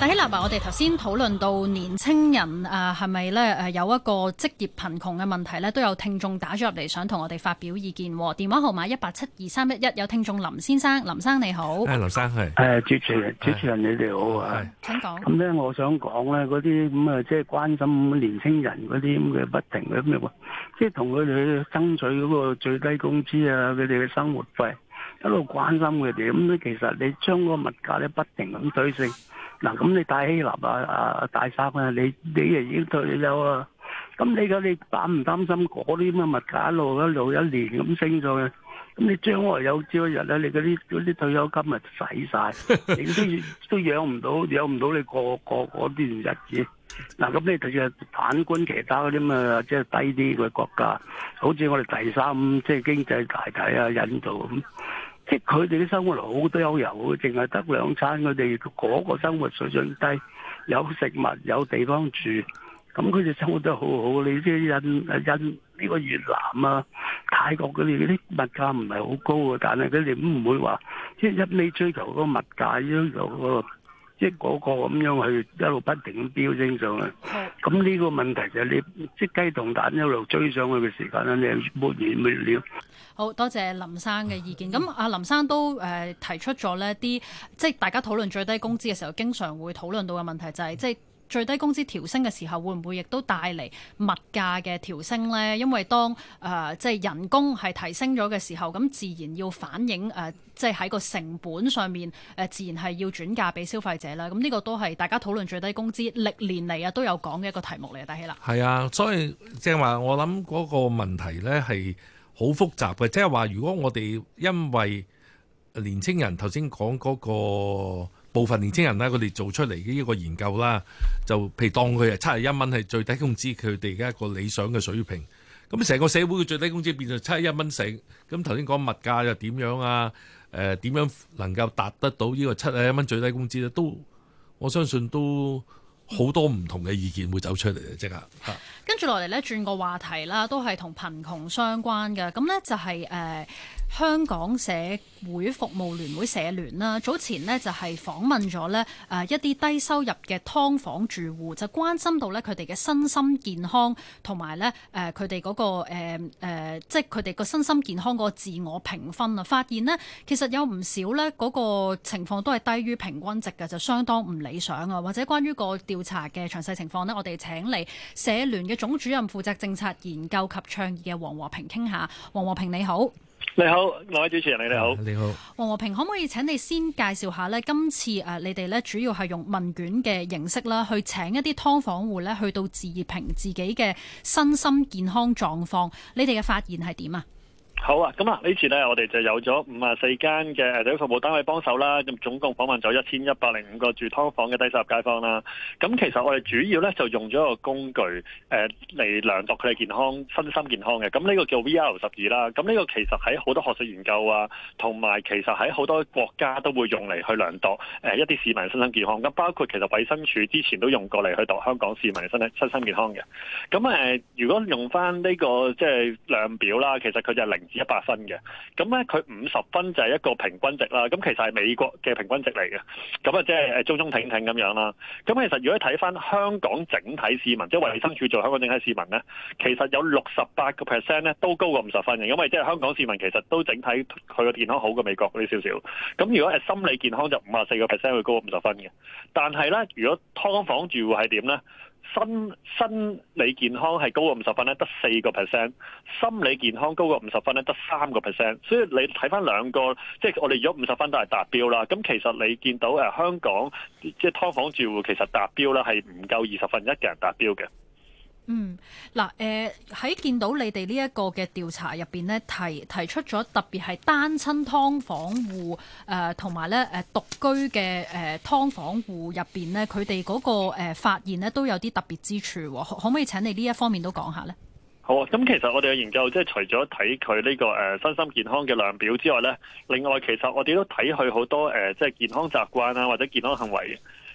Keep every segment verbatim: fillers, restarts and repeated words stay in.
但希立啊，我哋頭先討論到年青人誒係咪咧誒有一個職業貧窮嘅問題咧，都有聽眾打咗入嚟想同我哋發表意見。電話號碼一八七二三一一，有聽眾林先生，林生你好。 誒，林生係。 誒，主持人，主持人你哋好啊。 請講。 咁咧，我想講咧，嗰啲咁啊，即係關心年青人嗰啲咁嘅不停嘅咁嘅，即係同佢哋爭取嗰個最低工資啊，佢哋嘅生活費，一路關心佢哋。咁咧，其實你將個物價咧不停咁推升。嗱，咁你大希立啊啊大生啊，你你啊已經退休啦。咁你而家你擔唔擔心嗰啲咁嘅物價一路一路一年咁升咗嘅？咁你將來有朝一日咧，你嗰啲嗰啲退休金咪使晒，你都都養唔到，養唔到你過過嗰段日子。嗱，咁你就反觀其他嗰啲咁啊，即係低啲嘅國家，好似我哋第三即係經濟大體啊，印度咁，即係佢哋啲生活好多悠遊，淨係得兩餐，佢哋嗰個生活水準低，有食物有地方住。咁佢哋生活得好好，你即係印印呢個越南啊、泰國佢哋嗰啲物價唔係好高啊，但係佢哋唔會話即係一味追求嗰個物價，追求嗰個即係嗰個咁樣去一路不停咁飆升上去。咁呢個問題就係你即係雞同蛋一路追上去嘅時間咧，你沒完沒了。 好多謝林生嘅意見。咁阿林生都誒、呃、提出咗呢啲，即係大家討論最低工資嘅時候，經常會討論到嘅問題就係、是、即係。最低工資調升嘅時候，會唔會亦都帶嚟物價嘅調升呢？因為當誒、呃、即係人工係提升咗嘅時候，咁自然要反映誒、呃、即係喺個成本上面誒、呃，自然係要轉嫁俾消費者啦。咁呢個都係大家討論最低工資歷年嚟啊都有講嘅一個題目嚟嘅，大希啦。 係啊，所以即係話我諗嗰個問題呢係好複雜嘅，即係話如果我哋因為年青人頭先講嗰個。部分年青人咧，佢哋做出嚟嘅呢個研究啦，就譬如當佢係七十一蚊係最低工資，佢哋嘅一個理想嘅水平。咁成個社會嘅最低工資變成七十一蚊成，咁頭先講物價又點樣啊？誒、呃、點樣能夠達得到呢個七十一蚊最低工資咧？都我相信都好多唔同嘅意見會走出嚟嘅，即刻。 跟住落嚟咧，轉個話題啦，都係同貧窮相關嘅。咁呢就係、是、誒、呃、香港社會服務聯會社聯啦。早前呢就係、是、訪問咗呢誒一啲低收入嘅劏房住戶，就關心到呢佢哋嘅身心健康同埋呢誒佢哋嗰個誒、呃呃、即係佢哋個身心健康嗰個自我評分啊。發現呢其實有唔少呢嗰、那個情況都係低於平均值嘅，就相當唔理想啊。或者關於個調查嘅詳細情況呢，我哋請嚟社聯嘅總主任負責政策研究及倡議嘅黃和平傾下。黃和平你好。 你好，兩位主持人你好。 你好。 黃和平，可唔可以請你先介紹下呢？今次誒你哋咧主要係用問卷嘅形式啦，去請一啲劏房戶咧去到自評自己嘅身心健康狀況，你哋嘅發現係點啊？ 好啊，咁啊呢次呢，我哋就有咗五十四間嘅社會服務單位幫手啦，咁總共訪問咗一千一百零五個住劏房嘅低收入街坊啦。咁其實我哋主要呢，就用咗一個工具誒嚟量度佢哋健康、身心健康嘅。咁呢個叫 V R 十二啦。咁呢個其實喺好多學術研究啊，同埋其實喺好多國家都會用嚟去量度誒一啲市民身心健康。咁包括其實衛生署之前都用過嚟去度香港市民身身心健康嘅。咁誒，如果用翻呢個即係量表啦，其實佢就係零。一百分嘅，咁咧佢五十分就係一個平均值啦。咁其實係美國嘅平均值嚟嘅，咁啊即係誒中中挺挺咁樣啦。咁其實如果睇翻香港整體市民，即係衛生署做香港整體市民咧，其實有六十八個 percent 咧都高過五十分嘅，因為即係香港市民其實都整體佢個健康好過美國嗰啲少少。咁如果係心理健康就五十四個 percent 會高過五十分嘅，但係咧如果劏房住戶係點咧？身心理健康係高過五十分咧，得四個 percent；心理健康高過五十分咧，得三個 percent。所以你睇翻兩個，即係我哋如果五十分都係達標啦。咁其實你見到誒香港即係劏房住戶其實達標啦，係唔夠二十分一嘅人達標嘅。 嗯，嗱，誒喺見到你哋呢一個嘅調查入邊呢，提提出咗特別係單親劏房戶誒同埋咧誒獨居嘅誒劏房戶入邊呢，佢哋嗰個誒發現呢都有啲特別之處，可可唔可以請你呢一方面都講下呢？ 好啊，咁其實我哋嘅研究即係除咗睇佢呢個誒身心健康嘅量表之外呢，另外其實我哋都睇佢好多誒即係健康習慣啊或者健康行為。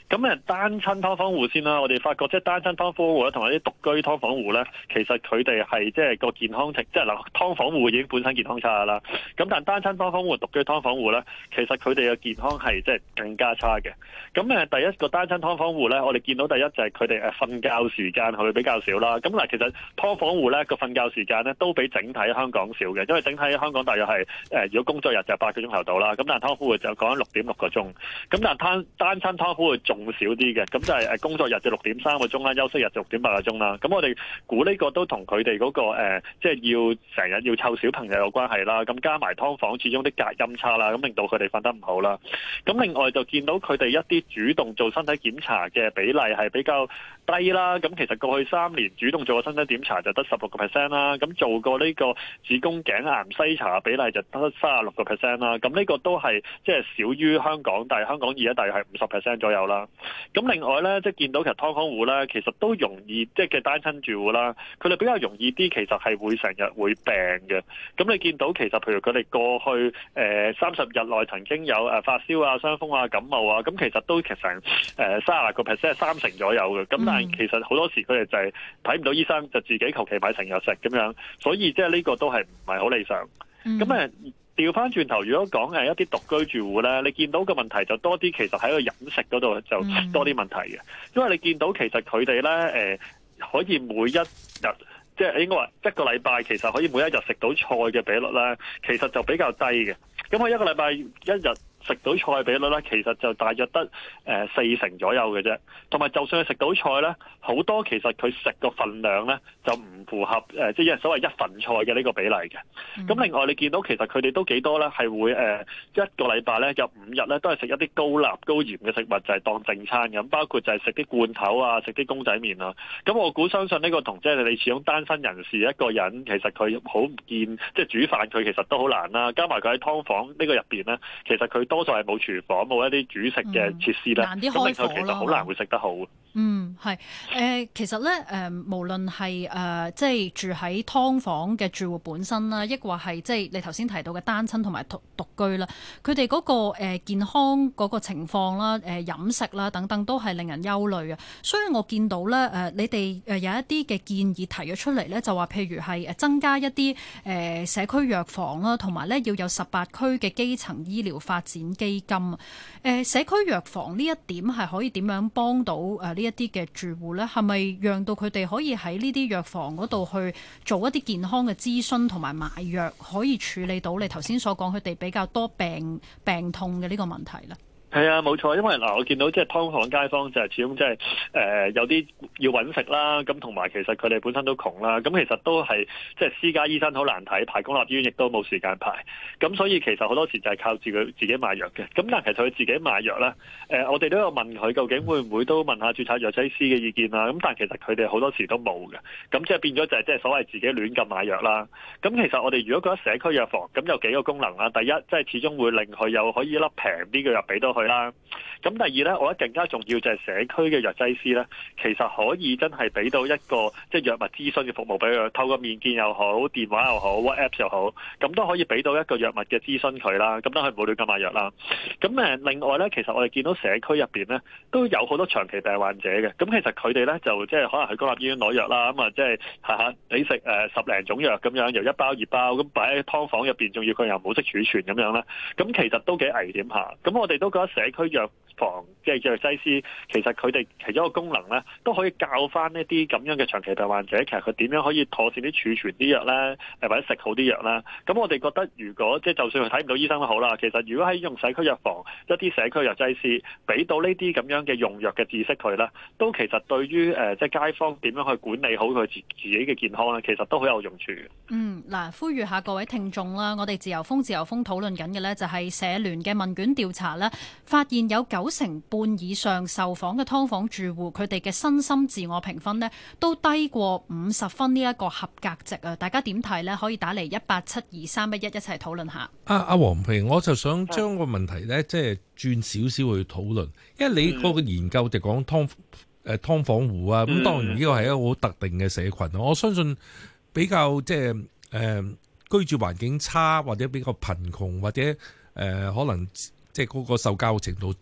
咁誒單親劏房戶先啦，我哋發覺即係單親劏房戶咧，同埋啲獨居劏房戶咧，其實佢哋係即係個健康情，即係嗱劏房戶已經本身健康差啦。咁但係單親劏房戶、獨居劏房戶咧，其實佢哋嘅健康係即係更加差嘅。咁誒第一個單親劏房戶咧，我哋見到第一就係佢哋誒瞓覺時間係會比較少啦。咁嗱，其實劏房戶咧個瞓覺時間咧都比整體香港少嘅，因為整體香港大約係誒如果工作日就八個鐘頭到啦。咁但係劏房戶就講緊六點六個鐘。咁但係單單親劏房戶仲少啲嘅，咁就係誒工作日就六點三個鐘啦，休息日就六點八個鐘啦。咁我哋估呢個都同佢哋嗰個誒，即係要成日要湊小朋友有關係啦。咁加埋劏房始終啲隔音差啦，咁令到佢哋瞓得唔好啦。咁另外就見到佢哋一啲主動做身體檢查嘅比例係比較低啦。咁其實過去三年主動做個身體檢查就得十六個 percent 啦。咁做過呢個子宮頸癌篩查嘅比例就得三十六個 percent 啦。咁呢個都係即係少於香港，但係香港而家大約係五十 percent 左右啦。咁另外咧，即係見到其實劏房戶咧，其實都容易即係嘅單親住戶啦，佢哋比較容易啲，其實係會成日會病嘅。咁你見到其實譬如佢哋過去誒三十日內曾經有誒發燒啊、傷風啊、感冒啊，咁其實都其實成誒三十個 percent 三成左右嘅。咁但係其實好多時佢哋就係睇唔到醫生，就自己求其買成藥食咁樣，所以即係呢個都係唔係好理想。咁誒、嗯。調翻轉頭，如果講誒一啲獨居住戶咧，你見到嘅問題就多啲，其實喺個飲食嗰度就多啲問題嘅，因為你見到其實佢哋咧誒可以每一日，即係應該話一個禮拜其實可以每一日食到菜嘅比率咧，其實就比較低嘅。咁佢一個禮拜一日食到菜嘅比率咧，其實就大約得誒四成左右嘅啫。同埋就算佢食到菜咧，好多其實佢食個份量咧就唔符合誒，即係所謂一份菜嘅呢個比例嘅。咁、嗯、另外你見到其實佢哋都幾多咧，係會誒一個禮拜咧有五日咧都係食一啲高鈉高鹽嘅食物，就係、是、當正餐咁，包括就係食啲罐頭啊，食啲公仔麵啊。咁我估相信呢個同即係你始終單身人士一個人，其實佢好唔見即係煮飯，佢其實都好難啦。加埋佢喺劏房呢個入邊咧，其實佢多數係冇廚房，冇一啲煮食嘅設施咧，咁、嗯、令佢其實好難會食得好。 嗯，係誒、呃，其實咧誒、呃，無論係誒，即係住喺劏房嘅住戶本身啦，抑或係即係你頭先提到嘅單親同埋獨獨居啦，佢哋嗰個誒、呃、健康嗰個情況啦、誒、呃、飲食啦等等，都係令人憂慮啊。所以我見到咧誒、呃，你哋誒有一啲嘅建議提咗出嚟咧，就話譬如係誒增加一啲誒、呃、社區藥房啦，同埋咧要有十八區嘅基層醫療發展基金啊。誒、呃、社區藥房呢一點係可以點樣幫到誒呢一啲嘅住戶咧？係咪讓到佢哋可以喺呢啲藥房嗰度去做一啲健康嘅諮詢同埋買藥，可以處理到你頭先所講佢哋比較多病病痛嘅呢個問題咧？ 係啊，冇錯，因為嗱，我見到即係劏房街坊就係始終即係誒有啲要揾食啦，咁同埋其實佢哋本身都窮啦，咁其實都係即係私家醫生好難睇，排公立醫院亦都冇時間排，咁所以其實好多時就係靠自己自己買藥嘅。咁但係其實佢自己買藥咧，誒、呃、我哋都有問佢究竟會唔會都問下註冊藥劑師嘅意見啦。咁但係其實佢哋好多時都冇嘅，咁即係變咗就係即係所謂自己亂咁買藥啦。咁其實我哋如果覺得社區藥房咁有幾個功能啦，第一即係始終會令佢有可以一粒平啲嘅藥俾到佢啦。咁第二咧，我覺得更加重要就係社區嘅藥劑師咧，其實可以真係俾到一個即係藥物諮詢嘅服務俾佢，透過面見又好、電話又好、WhatsApp 又好，咁都可以俾到一個藥物嘅諮詢佢啦。咁等佢唔好亂咁買藥啦。咁誒，另外咧，其實我哋見到社區入邊咧都有好多長期病患者嘅。咁其實佢哋咧就即係可能去公立醫院攞藥啦，咁啊即係下下你食誒十零種藥咁樣，由一包二包咁擺喺劏房入邊，仲要佢又冇識儲存咁樣啦。咁其實都幾危險下。咁我哋都覺得社區藥房即係藥劑師，其實佢哋其中一個功能咧，都可以教翻呢啲咁樣嘅長期病患者，其實佢點樣可以妥善啲儲存啲藥咧，誒或者食好啲藥啦。咁我哋覺得，如果即係就算佢睇唔到醫生都好啦，其實如果喺用社區藥房一啲社區藥劑師俾到呢啲咁樣嘅用藥嘅知識佢咧，都其實對於誒即係街坊點樣去管理好佢自自己嘅健康咧，其實都好有用處嘅。 嗯，嗱，呼籲下各位聽眾啦，我哋自由風自由風討論緊嘅咧，就係社聯嘅問卷調查咧，發現有九成半以上受訪嘅劏房住戶，佢哋嘅身心自我評分呢都低過五十分呢一個合格值啊！大家點睇呢？可以打嚟一八七二三一一一齊討論下。阿阿黃平，我就想將個問題呢，即係轉少少去討論，因為你嗰個研究就講劏誒劏房戶啊，咁當然呢個係一個好特定嘅社群，我相信比較即係誒居住環境差或者比較貧窮或者誒、呃、可能即係嗰個受教育程度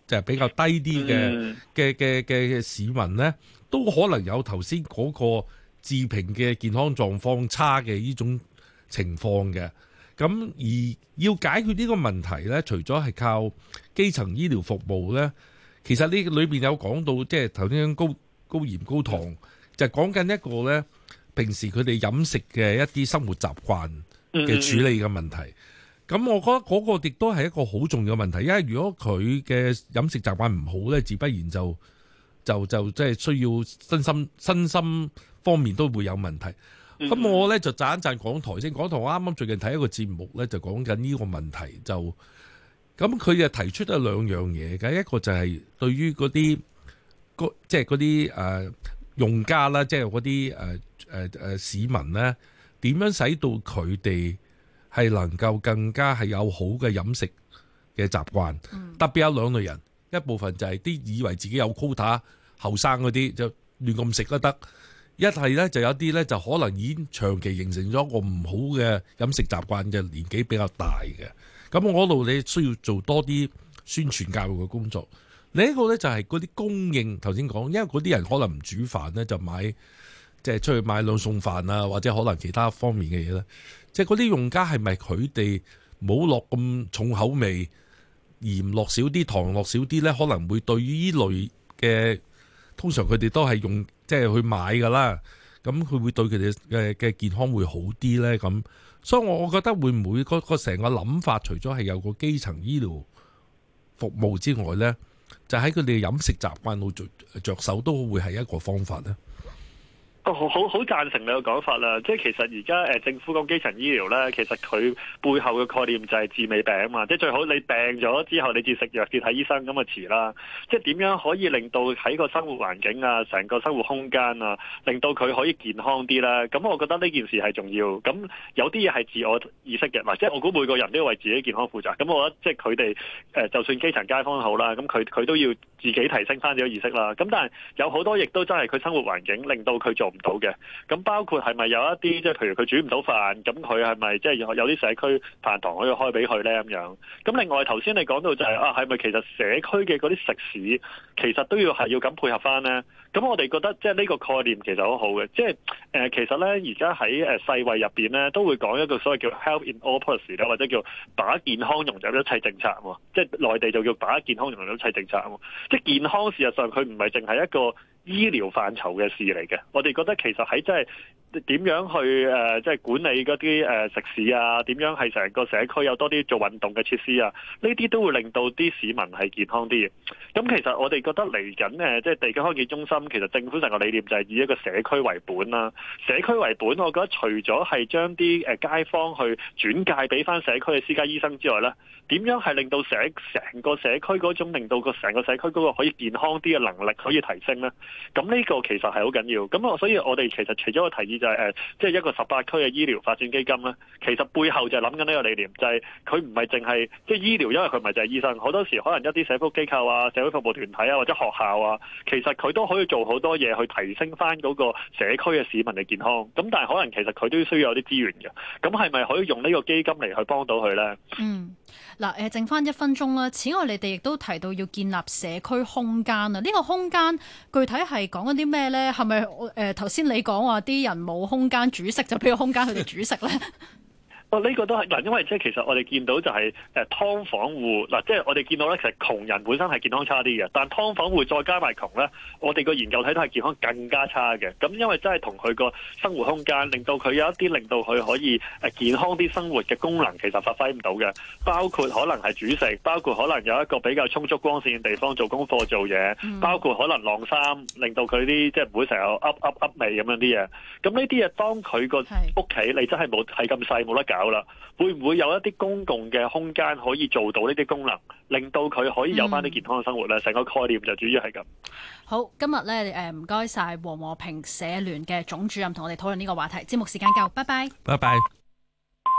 就係比較低啲嘅嘅嘅嘅市民咧，都可能有頭先嗰個自評嘅健康狀況差嘅呢種情況嘅。咁而要解決呢個問題咧，除咗係靠基層醫療服務咧，其實呢裏邊有講到，即係頭先高高鹽高糖，就講緊一個咧，平時佢哋飲食嘅一啲生活習慣嘅處理嘅問題。咁我覺得嗰個亦都係一個好重要嘅問題，因為如果佢嘅飲食習慣唔好咧，自不然就就就即係需要身心身心方面都會有問題。咁、嗯、我咧就讚一讚港台先。港台我啱啱最近睇一個節目咧，就講緊呢個問題。就咁佢就提出咗兩樣嘢嘅，一個就係對於嗰啲即係嗰啲誒用家啦，即係嗰啲誒誒誒市民咧，點樣使到佢哋係能夠更加係有好嘅飲食嘅習慣。嗯、特別有兩類人，一部分就係啲以為自己有 quota 後生嗰啲就亂咁食都得。一係咧就有啲咧就可能已經長期形成咗一個唔好嘅飲食習慣嘅年紀比較大嘅，咁我嗰度你需要做多啲宣傳教育嘅工作。另一個咧就係嗰啲供應，頭先講，因為嗰啲人可能唔煮飯咧，就買即係出去買兩餸飯啊，或者可能其他方面嘅嘢咧，即係嗰啲用家係咪佢哋冇落咁重口味，鹽落少啲，糖落少啲咧，可能會對於呢類嘅，通常佢哋都係用即係去買㗎啦，咁佢會對佢哋嘅嘅健康會好啲咧。咁所以我覺得會唔會嗰個成個諗法，除咗係有個基層醫療服務之外咧，就喺佢哋飲食習慣度着着手，都會係一個方法咧。 哦，好好好贊成你嘅講法啦！即係其實而家誒政府講基層醫療咧，其實佢背後嘅概念就係治未病啊嘛！即係最好你病咗之後，你至食藥至睇醫生咁啊遲啦！即係點樣可以令到喺個生活環境啊、成個生活空間啊，令到佢可以健康啲咧？咁我覺得呢件事係重要。咁有啲嘢係自我意識嘅，或者我估每個人都要為自己健康負責。咁我覺得即係佢哋誒，就算基層街坊好啦，咁佢佢都要自己提升翻自己意識啦。咁但係有好多亦都真係佢生活環境令到佢做唔到嘅，咁包括係咪有一啲即係譬如佢煮唔到飯，咁佢係咪即係有啲社區飯堂可以開俾佢咧咁樣？咁另外頭先你講到就係、是、啊，係咪其實社區嘅嗰啲食肆其實都要係要咁配合翻咧？咁我哋覺得即係呢個概念其實好好嘅，即係誒、呃、其實咧而家喺誒世衛入邊咧都會講一個所謂叫 Health in All Policy 咧，或者叫把健康融入一切政策喎，即係內地就叫把健康融入一切政策喎，即係健康事實上佢唔係淨係一個醫療範疇嘅事嚟嘅，我哋覺得其實喺即係點樣去誒即係管理嗰啲誒食肆啊，點樣係成個社區有多啲做運動嘅設施啊，呢啲都會令到啲市民係健康啲嘅。咁其實我哋覺得嚟緊誒即係地區康健中心，其實政府成個理念就係以一個社區為本啦。社區為本，我覺得除咗係將啲誒街坊去轉介俾翻社區嘅私家醫生之外咧，點樣係令到社成個社區嗰種令到個成個社區嗰個可以健康啲嘅能力可以提升咧？咁呢個其實係好緊要。咁我所以我哋其實除咗個提議就係誒，即係一個十八區嘅醫療發展基金咧，其實背後就係諗緊呢個理念，就係佢唔係淨係即係醫療，因為佢唔係就係醫生，好多時可能一啲社福機構啊、社會服務團體啊或者學校啊，其實佢都可以做好多嘢去提升翻嗰個社區嘅市民嘅健康。咁但係可能其實佢都需要有啲資源嘅。咁係咪可以用呢個基金嚟去幫到佢咧？ 嗯，嗱誒，剩翻一分鐘啦。此外，你哋亦都提到要建立社區空間啊。呢個空間具體係講緊啲咩咧？係咪誒頭先你講話啲人冇空間煮食，就俾個空間佢哋煮食咧？ 哦，呢、這個都係嗱，因為即係其實我哋見到就係誒劏房戶嗱，即係我哋見到咧，其實窮人本身係健康差啲嘅，但劏房戶再加埋窮咧，我哋個研究睇到係健康更加差嘅。咁因為真係同佢個生活空間，令到佢有一啲令到佢可以誒健康啲生活嘅功能，其實發揮唔到嘅。包括可能係煮食，包括可能有一個比較充足光線嘅地方做功課做嘢，嗯、包括可能晾衫，令到佢啲即係唔會成日噏噏噏味咁樣啲嘢。咁呢啲嘢當佢個屋企你真係冇係咁細冇得搞啦，會唔會有一啲公共嘅空間可以做到呢啲功能，令到佢可以有翻啲健康嘅生活咧？成、嗯、個概念就主要係咁。好， 今日咧誒唔該晒黃和平社聯嘅總主任同我哋討論呢個話題。節目時間夠，拜拜。 拜拜。